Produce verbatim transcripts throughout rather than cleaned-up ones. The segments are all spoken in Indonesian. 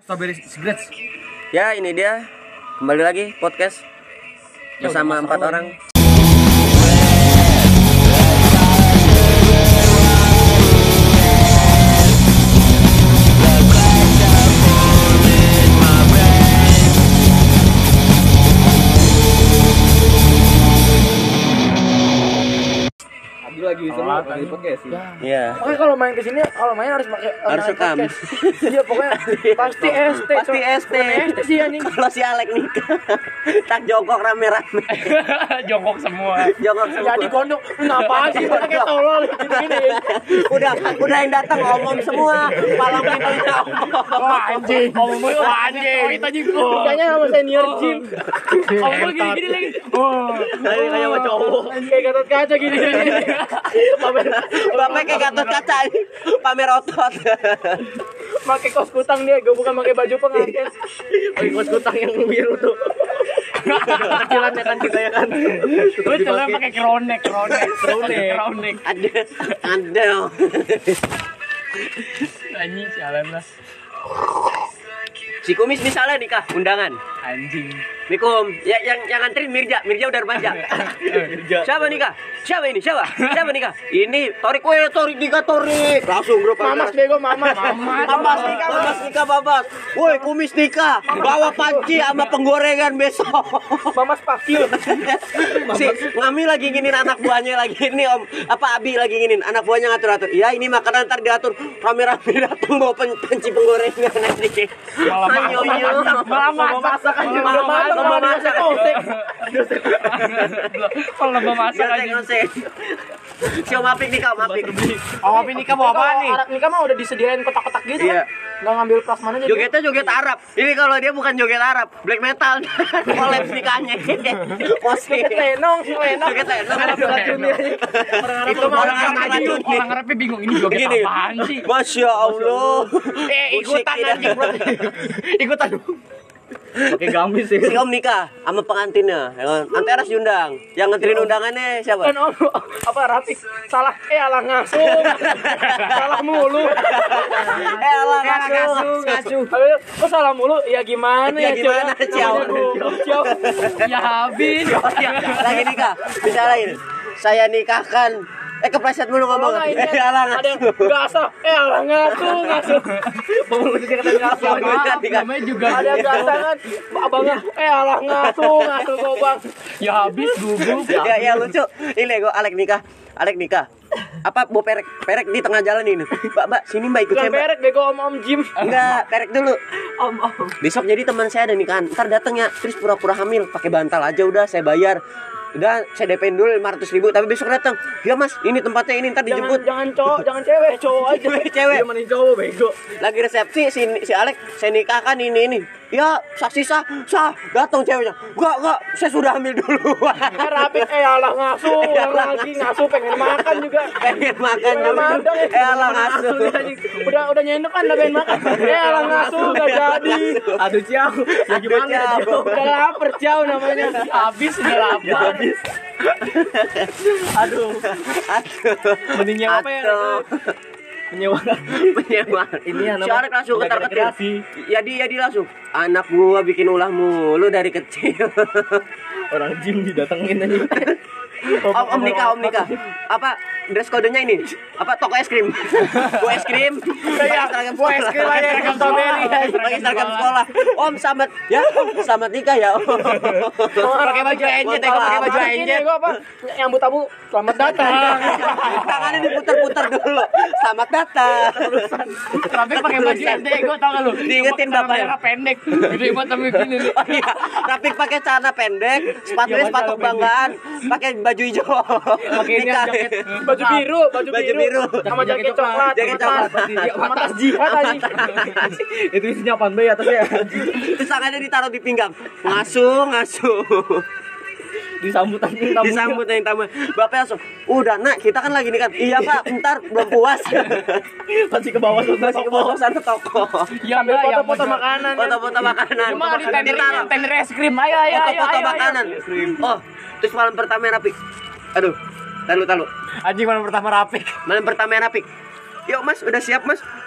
Strawberry Cigarettes. Ya, ini dia. Kembali lagi podcast bersama empat orang. Lagi seru lagi podcast sih. Iya. Oke, kalau main ke sini, kalau main harus pakai Harus rekam. Iya, pokoknya pasti S T. Pasti S T. S T sih anjing. Kalau si Alek nikah, tak jongkok rame-rame. Jongkok semua. Jongkok semua. Jadi gondok, ngapain sih pakai tolol gini-gini. Udah, udah yang datang ngomong semua. Palang pintunya. Wah, anjing. Ngomong wah anjing. Oh, itu anjing gua. Kayaknya sama senior gym. Ngomong gini-gini lagi. Oh, Kayak sama cowok. Kayak Gatot Kaca gini. Bapak kayak Gatot Kaca ini pamer otot. Pakai kos kutang dia, gue bukan pakai baju pengantin. Pakai kos kutang yang biru tuh. Kecilannya kan kita ya kan. gue celana pakai kronek, kronek, kronek, kronek. Ada, ada. Anjing sialan lah. Si Kumis misalnya nikah undangan. Anjing. Mikum, ya yang yang nganterin Mirja, Mirja udah remaja. Siapa nikah? Siapa ini? Siapa? Siapa nikah? Ini Torik, weh Torik nikah Torik. Langsung grup Mamas bego, mamas. Mamas nikah, Mamas nikah, Babas. Woi, Kumis nikah. Bawa panci sama penggorengan besok. Mamas pakil. Si Ngami lagi nginin anak buahnya lagi ini Om. Apa Abi lagi nginin anak buahnya ngatur-atur. Iya, ini makanan ntar diatur rame-rame datang bawa pen- panci penggorengan nanti. Malah masak, malah masak aja. Udah matang malah dimasak osek. Kalau lomba masak aja. Si Om Apik nikah, Om Apik. Oh, tapi nikah mau apa nih? Arak nikah mah udah disediain kotak-kotak gitu Iya. kan. Nggak ngambil plasma aja. Jogetnya joget Arab. Ini kalau dia bukan joget Arab, black metal. Kolaps nikahnya. Posting. Lenong, lenong. Joget lenong. Ada racunnya. Itu mah orang Arab aja. Orang Arabnya bingung ini joget Begini. apaan sih? Masya Allah. Eh, Musik ikutan tidak. anjing, bro. Ikutan. Pakai gamis sih. Si Om nikah sama pengantinnya. Nanti harus diundang. Yang nganterin undangannya siapa? Kan om apa Rapi salah eh alah ngasuh. Salah mulu. Eh Allah ngasuh. Ngasuh. Kok salah mulu? Ya gimana Ya ya, gimana, Ciao? Ciao. Ya habis. Lagi nikah. Bisa lain. Saya nikahkan. Eh kepleset mulu ngomong. Kalau nggak ini Eh Allah ada ngasuh. nggak asal eh alah ngasuh ngasuh. Bangun dia kata ngasuh. Maaf, namanya juga Ada gasangan abangnya eh alah ngasuh ngasuh kok bang. ya habis gugup. Ya ya lucu. Ini gue Alek nikah. Alek nikah. Apa bawa perek? Perek di tengah jalan ini. Mbak, Mbak, sini Mbak ikut Bukan saya, Mbak. perek bego om om Jim. Enggak, perek dulu. Om om. Besok jadi teman saya ada nikahan. Ntar datang ya, terus pura-pura hamil, pakai bantal aja udah saya bayar. Udah saya D P-in dulu lima ratus ribu, tapi besok datang. Ya Mas, ini tempatnya ini ntar Jangan dijemput. jangan cowok, jangan cewek, cowok aja. Cewek, cewek. Dia mending cowok bego. Lagi resepsi si si Alek, saya nikahkan ini ini. Ya, saksi sah, sah. Datang ceweknya. Enggak, enggak, saya sudah hamil dulu. Eh Rapi eh alah ngasuh, yang lagi ngasuh pengen makan juga. Pengen makan Pengen dulu. makan, Eh alah ngasuh. Udah udah nyendok kan udah pengen makan. Eh alah ngasuh enggak jadi. Aduh, Ciao. Ya gimana ya, Ciao. Ciao? Udah lapar jauh namanya. Habis udah lapar. Habis. Aduh. Aduh. Mending nyewa apa ya? Aduh. Menyewa. Menyewa. Ini anak. Si Alek langsung ketar ketir. Rekreasi. Ya dia dia langsung. Anak gua bikin ulah mulu dari kecil. Orang gym didatengin aja. Om, om nikah, om nikah. Apa dress kodenya ini? Apa toko es krim? Gua es krim. Pakai seragam Gua es krim aja seragam strawberry. Pakai seragam sekolah. Om selamat ya, om selamat nikah ya. Om. Pakai baju enjet, ya, pakai baju Ini enjet. gua apa? Yang tamu selamat datang. Tangannya diputar-putar dulu. Selamat datang. Tapi pakai baju enjet, gua tau gak lu? Diingetin Cuma bapaknya. celana pendek. Gede banget tapi gini nih. Oh iya, Rafiq pakai celana pendek, sepatunya Iya, sepatu celana kebanggaan, pakai baju hijau. Pakai ini Nikah. jaket Baju biru, baju, Baju biru. sama jaket coklat, Jaket sama tas- coklat. sama tas jihad aja. itu isinya apaan be atasnya? Terus tangannya ditaruh di pinggang. Ngasuh, ngasuh. Disambut anjing tamu. Disambut yang tamu. Bapak langsung, udah nak, kita kan lagi nikah. Iya Pak, bentar belum puas. Masih ke bawah Masih ke bawah sana toko. Ya Ambil Mbak, yang foto-foto mau- makanan. Foto-foto makanan. Cuma di tender Ditaruh. tender es krim. Ayo ayo ayo. Foto-foto ayo, ayo. makanan. Oh, terus malam pertama Rafiq. Aduh, talu talu. Anjing malam pertama Rafiq. Malam pertama Rafiq. Yuk Mas, udah siap Mas?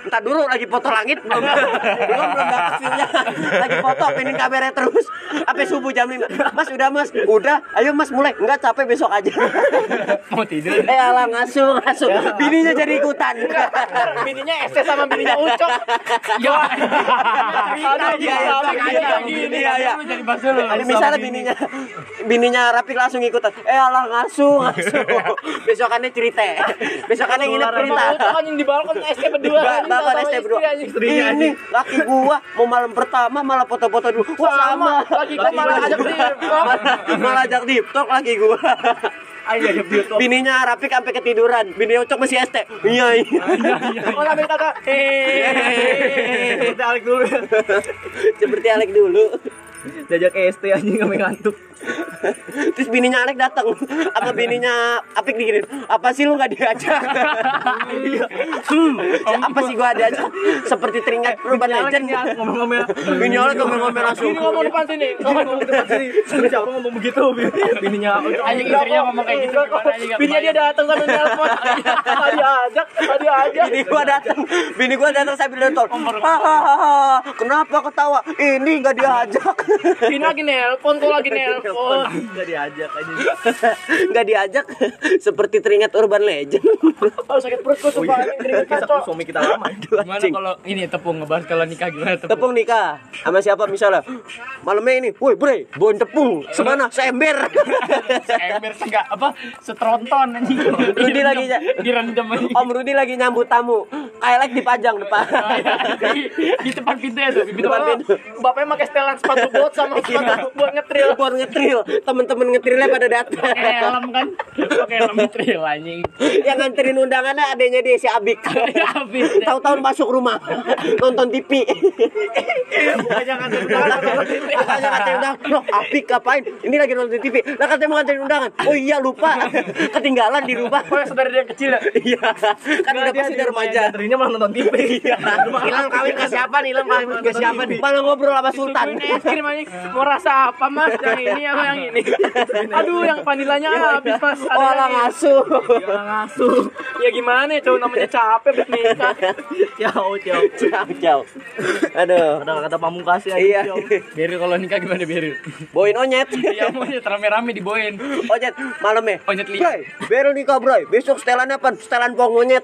Entar dulu lagi foto langit belum. Belum belum dapat filmnya. Lagi foto pinin kamera terus. Sampai subuh jam lima. Mas udah Mas, udah. Ayo Mas mulai. Enggak capek besok aja. Mau tidur. Eh alah ngasuh ngasuh. Bininya jadi ikutan. Bininya S T sama bininya Ucok. Ya. Aduh, Iya iya iya gini. iya iya. Jadi bahasa lu. Misalnya bininya bininya Rafiq langsung ikutan. Eh alah ngasuh ngasuh. Besokannya cerita. Besokannya nginep cerita. Ucok anjing di balkon S T berdua. Ba- Bapak S T berdua. Ini laki gua mau malam pertama malah foto-foto dulu. Wah sama. Lagi gua malah ajak dia. Malah ajak deep talk lagi gua. Ayo ajak dia tuh. Bininya Rafiq sampai ketiduran. Bini Ucok masih S T. Iya iya. Oh sampai kata eh Seperti Alek dulu. Seperti Alek dulu. diajak S T anjing sampai ngantuk. Terus bininya Alek datang. Apa bininya Apik diginin? Apa sih lu enggak diajak? hmm, apa sih gua diajak? Seperti teringat Urban Legend. Ngomong-ngomong. Bini Alek ngomong-ngomong langsung. Ini ngomong depan sini. Ngomong depan sini. Siapa ngomong begitu? Bininya Anjing istrinya ngomong kayak gitu gimana anjing? Bininya dia datang sambil nelpon. Dia ajak, dia ajak. Bini gua datang, bini gua datang sambil nonton. Hahaha, kenapa ketawa? Ini enggak diajak. Bini lagi nelpon, kok lagi nelpon. Enggak diajak aja. Enggak diajak. Seperti teringat Urban Legend. Oh sakit perut gua sumpah. Kisah Suami kita lama. Gimana kalau ini tepung ngebahas kalau nikah gimana tepung? Tepung nikah sama siapa misalnya? Malamnya ini, woi bre, bawain tepung. Semana seember. Ember enggak apa setronton anjing. Rudi lagi ya. Direndam aja. Om Rudi lagi nyambut tamu. Kayak dipajang depan. di, di depan pintu ya tuh, di Depan depan pintu. Bapaknya pakai setelan sepatu bot sama sepatu buat ngetril. Buat ngetril. Temen-temen ngetrilnya pada datang. pakai helm kan, pakai helm trail anjing. Yang nganterin undangannya adanya dia si Abik. Habis. Tahu-tahu masuk rumah nonton T V. Bukannya nganterin undangan, nonton T V. Katanya nganterin undangan. Loh, Abik ngapain? Ini lagi nonton T V. Lah katanya mau nganterin undangan. Oh iya lupa. Ketinggalan di rumah. Oh, saudara dia yang kecil ya? Iya. Kan udah pasti dari remaja. Anterinya malah nonton T V. Ilham kawin ke siapa nih? Ilham kawin ke siapa nih? Malah ngobrol sama Sultan. Ini es krim anjing. Mau rasa apa Mas? Yang ini apa yang ini? Aduh, yang vanilanya habis Mas. Ada Oh, lah lagi. ngasuh. Ya ngasuh. Ya gimana ya, cowok namanya capek habis nikah. Ciao, ciao. Ciao, ciao. Aduh. Ada kata pamungkas ya. Iya. Beril kalau nikah gimana Beril? Boin onyet. Iya monyet rame-rame diboin. Onyet malam ya. Onyet lihat. Bray, Beril nikah, Bray. Besok setelannya apa? Setelan pong monyet.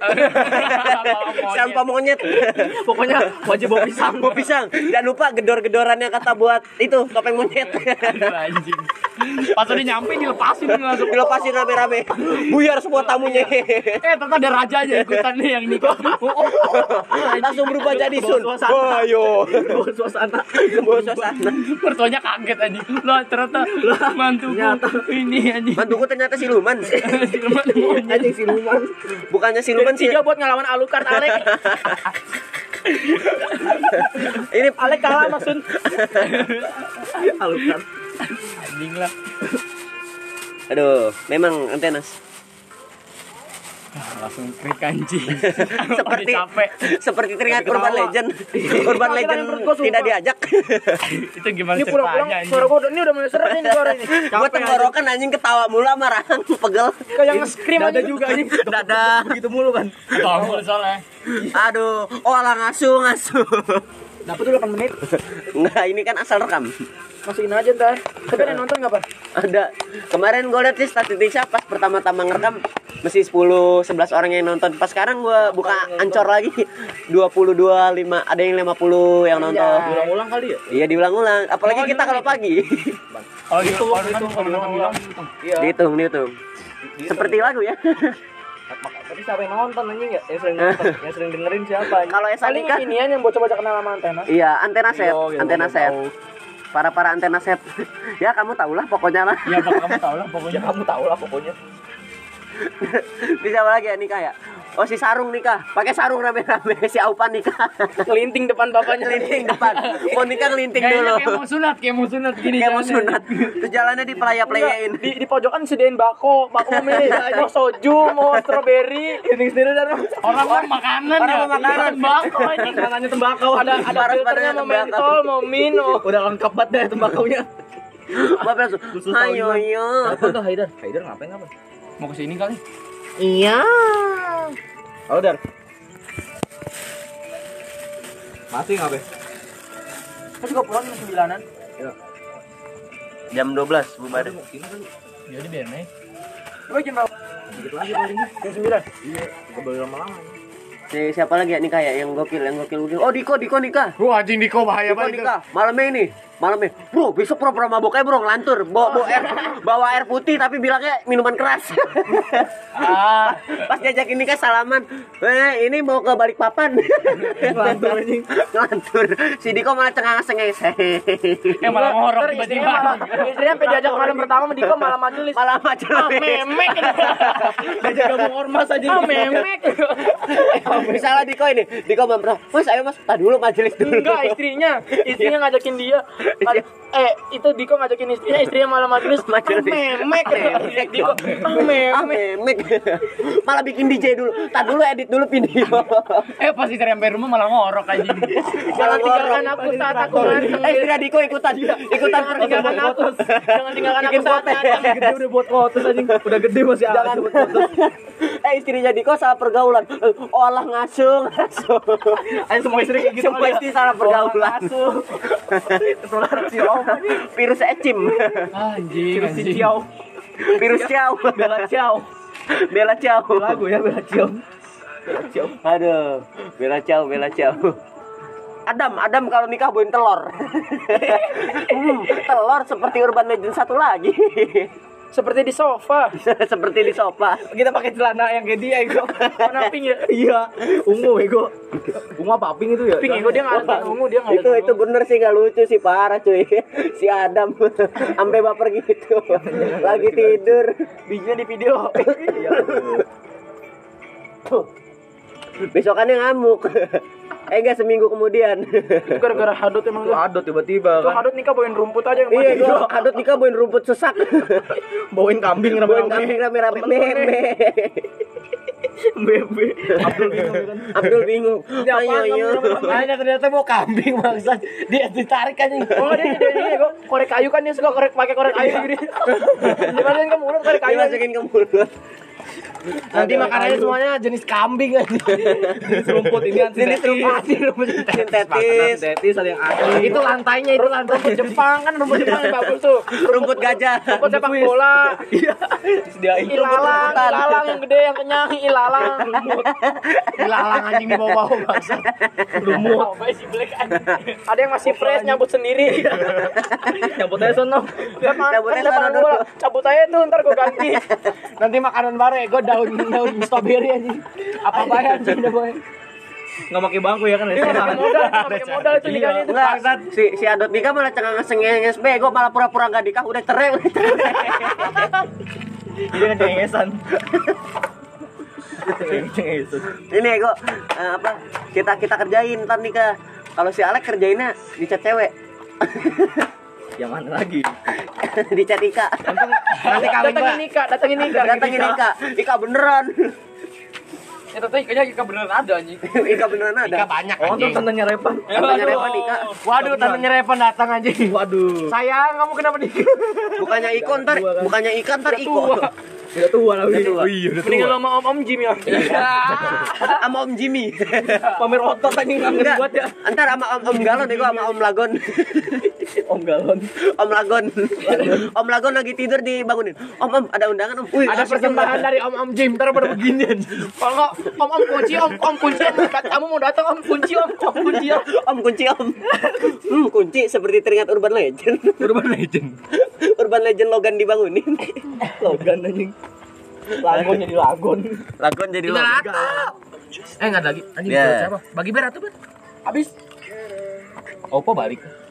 Setelan pong monyet. Pokoknya wajib bawa pisang. Mau pisang. Jangan lupa gedor-gedorannya kata buat itu topeng monyet. Aduh, anjing. Pas udah nyampe dilepasin langsung. Dilepasin rame-rame. Buyar semua tamunya. Eh ternyata ada rajanya ikutan nih yang nikah. Oh, oh, oh. Langsung berubah jadi sun. Bawa suasana. Wah, yo. Bawa suasana. Bawa suasana. Mertuanya kaget anjing. Lah ternyata mantuku ini anjing. Mantuku ternyata siluman. Siluman monyet. Anjing siluman. Bukannya siluman sih. Tiga buat ngelawan Alucard Alek. Ini Alek kalah maksud. Alucard. Anjing lah. aduh, memang antenas. Langsung krik anjing. Seperti Udah capek. seperti teringat Urban Legend. Urban Legend tidak diajak. Itu gimana Ini pulang-pulang ceritanya suara anjing? gua udah- ini udah mulai seret ini suara ini. Gua tenggorokan anjing ketawa mulu sama Rahang pegel. Kayak nge-scream aja juga anjing. Dada. Gitu mulu kan. Tombol soalnya. Aduh, oh alah ngasuh ngasuh. Dapat dulu delapan menit. Enggak, ini kan asal rekam. Masukin aja ntar. Tapi ada yang nonton enggak, Pak? Ada. Kemarin gue liat di statistiknya pas pertama-tama ngerekam masih sepuluh sebelas orang yang nonton. Pas sekarang gue buka ancor lagi dua puluh dua lima, ada yang lima puluh yang nonton. Ulang-ulang kali ya? Iya diulang-ulang, apalagi kita kalau pagi. Oh gitu, kalau kan kalau nonton bilang Iya. Dihitung, dihitung. Seperti lagu ya. Tapi siapa yang nonton anjing ya? Yang sering nonton, yang sering dengerin siapa? anjing? Kalau Esa Paling nikah, inian yang bocah-bocah kenal sama antena. iya antena set, Iya, iya, antena iya, set. tahu. Para para antena set. Ya kamu tau lah pokoknya lah. ya bakal kamu tahu lah pokoknya. Ya kamu tahu lah pokoknya. Bisa apa lagi ya nikah ya? Oh si Sarung nikah, pakai sarung rame-rame. Si Aupan nikah. Kelinting depan bapaknya. Kelinting depan. Mau nikah kelinting Kayaknya dulu. kayak mau sunat, kayak mau sunat gini. Kayak mau jalannya. sunat. Terus jalannya di pelaya-pelayain. Di, di pojokan sediain bako, bako milih mau soju, mau strawberry, ini sendiri dan Orang mau makanan Orang ya. mau makanan. Bako anjing. makanannya tembakau, ada ada Parah, filternya parah, mau tembakau. mentol, mau mino. Udah lengkap banget deh tembakaunya. Bapak langsung, ayo yo. Apa tuh Haidar? Haidar ngapain apa? Mau kesini kali. Iya. Halo Dar. Masih nggak be? Kan juga pulang jam sembilanan. Jam dua belas bubar. Jadi biar nih. Gue jam berapa? Dikit lagi paling. Jam sembilan. Iya. Gak boleh lama-lama. Si siapa lagi ya nikah ya yang gokil yang gokil gokil. Oh Diko Diko nikah. Wah anjing Diko bahaya Diko nikah. Malamnya ini. Malamnya. Bro, besok pura-pura mabok aja bro ngelantur. Bawa bawa air bawa air putih tapi bilangnya minuman keras. Ah, Pas diajakin nikah salaman. Eh, ini mau ke Balikpapan. Ngelantur anjing. Ngelantur. Si Diko malah cengang-cengeng. eh malah ngorok Ntar tiba-tiba. istrinya malah, istrinya sampai diajak malam pertama sama Diko malah majelis. Malah macam Ah, memek. Diajak gabung ormas aja. Ah, memek. Misalnya Diko ini, Diko memperah, mas ayo mas, tak dulu majelis dulu. Enggak, istrinya. Istrinya ngajakin dia. Kal- eh, itu Diko ngajakin istrinya, istrinya malah majelis. Ah, Majelis. memek. Memek, Diko. Ah, Ah, memek. memek. Malah bikin D J dulu, tak dulu edit dulu video. Eh pas istri sampai rumah malah ngorok anjing. Jangan tinggalkan aku saat aku nganteng. Eh, istri Diko ikutan, ikutan Jangan tinggalkan aku. Jangan tinggalkan aku Bikin saat konten. nganteng. Gede udah buat kotos anjing. Udah gede masih Jangan. ada buat kotos. Eh, istrinya Diko salah pergaulan. Eh, olah ngasuh, ngasuh. Ayo semua istri kayak gitu. Semua istri salah pergaulan. Ketular si Om. Virus ecim. Anjing Si anjing. Ciao. Virus ciao. Bella Ciao. Bella ciao. Lagu ya Bella Ciao. Bella Ciao. Aduh, Bella ciao, Bella ciao. Adam, Adam kalau nikah bawain telur. hmm, telur seperti Urban Legend satu lagi. Seperti di sofa. Seperti di sofa. Kita pakai celana yang kayak dia ego. Warna pink ya? Iya. Ungu ego. Ungu apa pink itu ya? Pink ego dia nggak ada ungu dia nggak ada. Itu itu bener sih nggak lucu sih parah cuy. Si Adam sampai baper gitu. Lagi tidur. Bijinya di video. Besokannya ngamuk. Eh enggak seminggu kemudian. Itu gara-gara hadut emang Itu tuh. adot tiba-tiba Tuh kan. hadut nikah bawain rumput aja yang Iya, mati. gua kadut nikah bawain rumput sesak. Bawain kambing Bawain rame-rame. kambing rame-rame meme. Bebe. Abdul bingung kan. Abdul bingung. Ini apaan Ayo, ayo. kamu rame-rame? Makanya ternyata mau kambing maksud dia ditarik anjing. Oh dia dia dia gua korek kayu kan dia suka korek pakai korek kayu gini. Dimasukin ke mulut korek kayu. Dimasukin ke mulut. Nanti makanannya semuanya jenis kambing anjing. Jenis rumput ini kan Jenis rumput sintetis. sintetis ada yang asli. Itu lantainya itu lantai. Rumput Jepang kan rumput Jepang yang bagus tuh. Rumput gajah. Rumput sepak bola. Iya. Disediain Ilalang, rumput-rumputan. ilalang yang gede yang kenyang, ilalang. Dilalang anjing di bawah-bawah bangsa. Lumut. Ada yang masih fresh nyabut sendiri. nyambut aja sono. Lapangan, Cabut kan aja lapangan sana bola. dulu. Cabut aja tuh ntar gue ganti. Nanti makanan baru ya gue daun daun strawberry anjing. Apa bayar anjing udah boy. Enggak pakai bangku ya kan. Dia nggak pakai modal, nggak pakai modal itu nikahnya itu. Enggak, si si Adot nikah malah cengang sengenges bego malah pura-pura enggak nikah udah cerai udah cerai. Dia kan cengengesan. Cengengesan. Ini ego eh, apa kita kita kerjain ntar nikah. Kalau si Alek kerjainnya dicat cewek. Yang mana lagi? Dicat Ika. Nanti kawin Datangin gua. nikah, datangin nikah. Datangin Ika. Ika beneran. Ya tapi kayaknya Ika beneran ada anjing. Ika beneran Ika ada. banyak Oh, tuh anjing. tantenya Repan. Tantenya Repan Ika. Waduh, tantenya Repan datang anjing. Waduh. Sayang, kamu kenapa nikah? Bukannya Iko ntar, bukannya Ika ntar Iko. Udah tua lah. Udah tua. Iya, udah Mendingan tua. sama Om Om Jim ya. Sama Om Jimmy. Pamer otot anjing kangen Enggak, buat ya. ntar sama Om Om Galon ego sama Om Lagon. Om Galon. Om Lagon. Om Lagon lagi tidur dibangunin. Om Om ada undangan Om. Wih, Ada asik persembahan juga. dari Om Om Jim, ntar pada begini anjing. Kalau nggak, Om Om kunci, Om Om kunci. Kamu mau datang Om kunci, Om Om kunci. Om. Om kunci Om. Hmm, kunci seperti teringat Urban Legend. Urban Legend. Urban Legend Logan dibangunin. Logan anjing. Lagon jadi lagon. Lagon jadi Tinggal Logan. Ato. Eh enggak ada lagi. Anjing Ya. siapa? Bagi ber atau ber? Habis. Oppo balik.